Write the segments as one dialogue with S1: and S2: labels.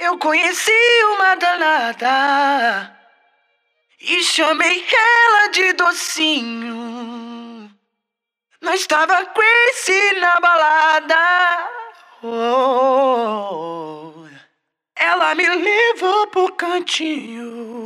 S1: Eu conheci uma danada e chamei ela de docinho. Nós estava crazy na balada. Oh, ela me levou pro cantinho.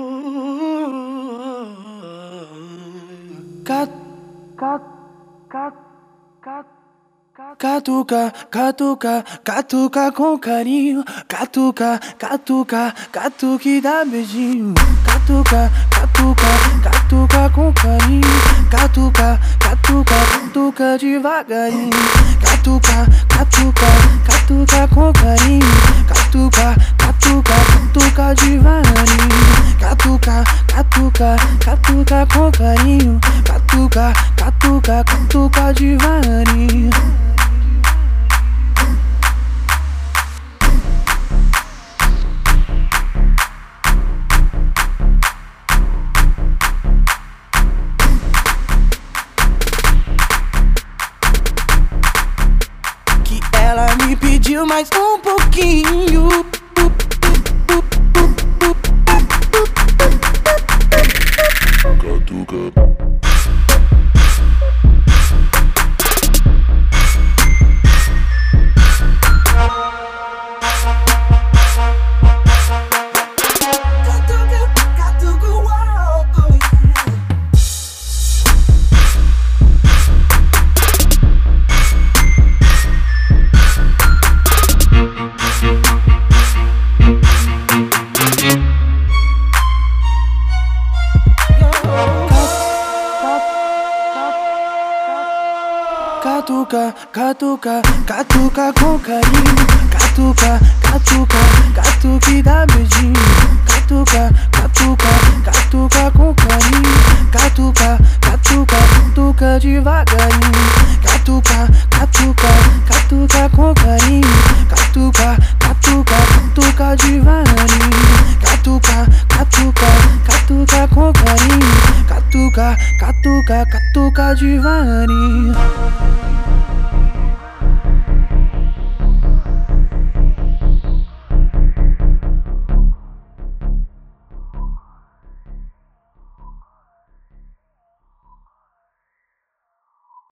S1: Catuca, catuca, catuca com carinho. Catuca, catuca, catuca e dá beijinho. Catuca, catuca, catuca com carinho. Catuca, catuca, catuca devagarinho. Catuca, catuca, catuca com carinho. Catuca, catuca, catuca devagarinho. Catuca, catuca, catuca com carinho. Catuca, catuca, catuca devagarinho. Ela me pediu mais um pouquinho. Catuca, catuca, catuca com carinho. Catuca, catuca, catuca e dá beijinho. Catuca, catuca, catuca com carinho. Catuca, catuca, catuca devagarinho. Catuca, catuca, catuca com carinho. Catuca, catuca, catuca devagarinho. Catuca, catuca, catuca com carinho. Catuca, catuca, catuca devagarinho.